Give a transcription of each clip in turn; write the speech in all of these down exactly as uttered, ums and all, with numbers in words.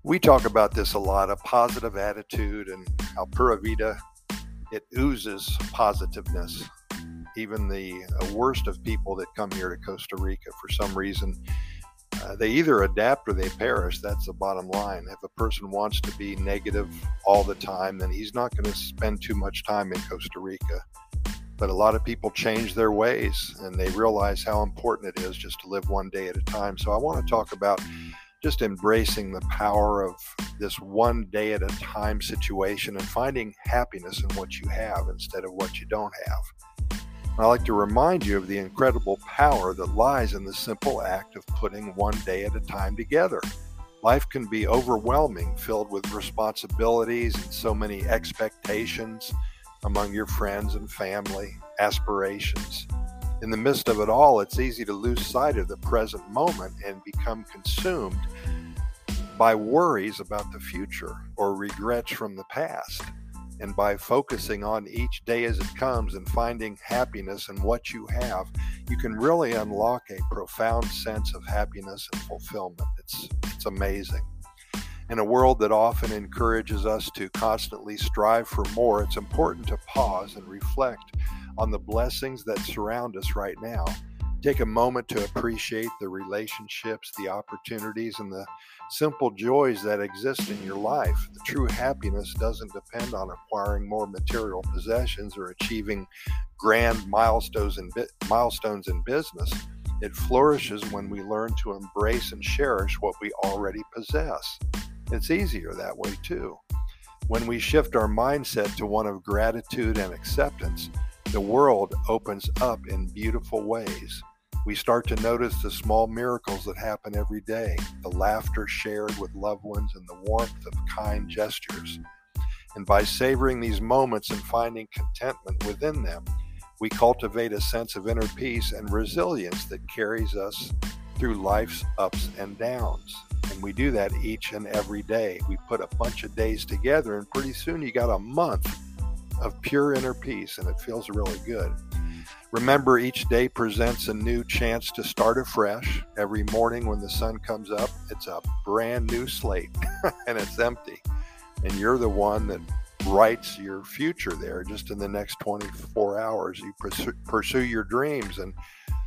We talk about this a lot, a positive attitude, and how Pura Vida, it oozes positiveness. Even the worst of people that come here to Costa Rica, for some reason, uh, they either adapt or they perish. That's the bottom line. If a person wants to be negative all the time, then he's not going to spend too much time in Costa Rica. But a lot of people change their ways, and they realize how important it is just to live one day at a time. So I want to talk about just embracing the power of this one day at a time situation and finding happiness in what you have instead of what you don't have. And I like to remind you of the incredible power that lies in the simple act of putting one day at a time together. Life can be overwhelming, filled with responsibilities and so many expectations among your friends and family, aspirations. In the midst of it all, it's easy to lose sight of the present moment and become consumed by worries about the future or regrets from the past. And by focusing on each day as it comes and finding happiness in what you have, you can really unlock a profound sense of happiness and fulfillment. It's, it's amazing. In a world that often encourages us to constantly strive for more, it's important to pause and reflect on the blessings that surround us right now. Take a moment to appreciate the relationships, the opportunities, and the simple joys that exist in your life. The true happiness doesn't depend on acquiring more material possessions or achieving grand milestones in, milestones in business. It flourishes when we learn to embrace and cherish what we already possess. It's easier that way too. When we shift our mindset to one of gratitude and acceptance, the world opens up in beautiful ways. We start to notice the small miracles that happen every day, the laughter shared with loved ones and the warmth of kind gestures. And by savoring these moments and finding contentment within them, we cultivate a sense of inner peace and resilience that carries us through life's ups and downs. And we do that each and every day. We put a bunch of days together, and pretty soon you got a month of pure inner peace, and it feels really good. Remember, each day presents a new chance to start afresh. Every morning when the sun comes up, it's a brand new slate, and it's empty. And you're the one that writes your future there. Just in the next twenty-four hours, you pursue, pursue your dreams, and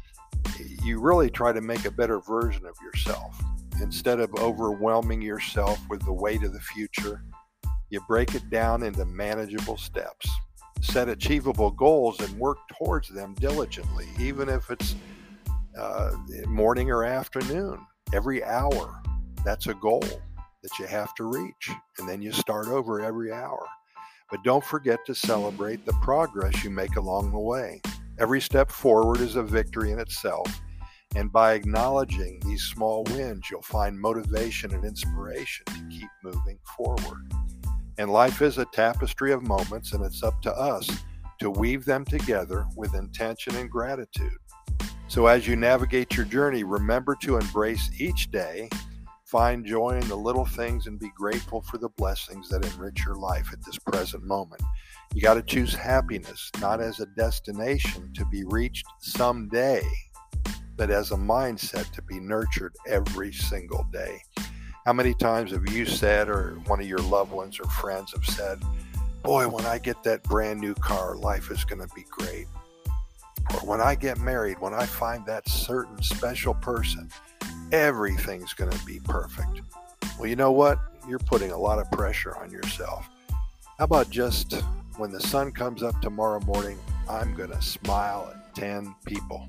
you really try to make a better version of yourself. Instead of overwhelming yourself with the weight of the future, you break it down into manageable steps. Set achievable goals and work towards them diligently, even if it's uh, morning or afternoon. Every hour, that's a goal that you have to reach. And then you start over every hour. But don't forget to celebrate the progress you make along the way. Every step forward is a victory in itself. And by acknowledging these small wins, you'll find motivation and inspiration to keep moving forward. And life is a tapestry of moments, and it's up to us to weave them together with intention and gratitude. So as you navigate your journey, remember to embrace each day, find joy in the little things, and be grateful for the blessings that enrich your life at this present moment. You got to choose happiness, not as a destination to be reached someday, but as a mindset to be nurtured every single day. How many times have you said, or one of your loved ones or friends have said, boy, when I get that brand new car, life is going to be great. Or when I get married, when I find that certain special person, everything's going to be perfect. Well, you know what? You're putting a lot of pressure on yourself. How about just when the sun comes up tomorrow morning, I'm going to smile at ten people.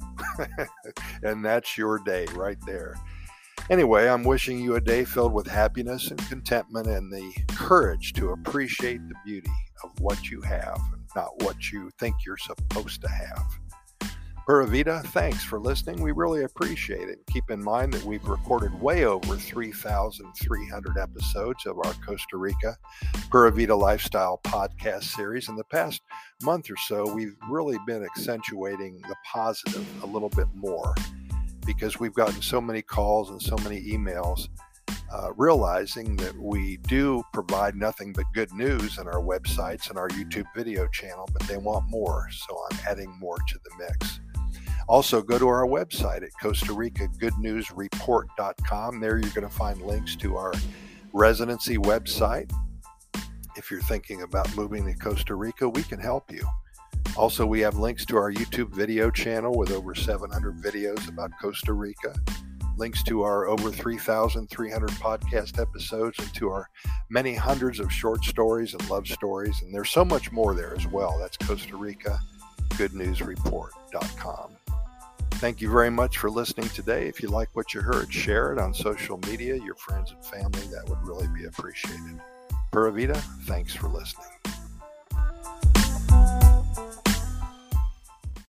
And that's your day right there. Anyway, I'm wishing you a day filled with happiness and contentment and the courage to appreciate the beauty of what you have, not what you think you're supposed to have. Pura Vida, thanks for listening. We really appreciate it. Keep in mind that we've recorded way over three thousand three hundred episodes of our Costa Rica Pura Vida Lifestyle podcast series. In the past month or so, we've really been accentuating the positive a little bit more, because we've gotten so many calls and so many emails uh, realizing that we do provide nothing but good news on our websites and our YouTube video channel, but they want more, so I'm adding more to the mix. Also, go to our website at Costa Rica Good News Report dot com. There you're going to find links to our residency website. If you're thinking about moving to Costa Rica, we can help you. Also, we have links to our YouTube video channel with over seven hundred videos about Costa Rica, links to our over three thousand three hundred podcast episodes, and to our many hundreds of short stories and love stories. And there's so much more there as well. That's Costa Rica Good News Report dot com. Thank you very much for listening today. If you like what you heard, share it on social media, your friends and family. That would really be appreciated. Pura Vida, thanks for listening.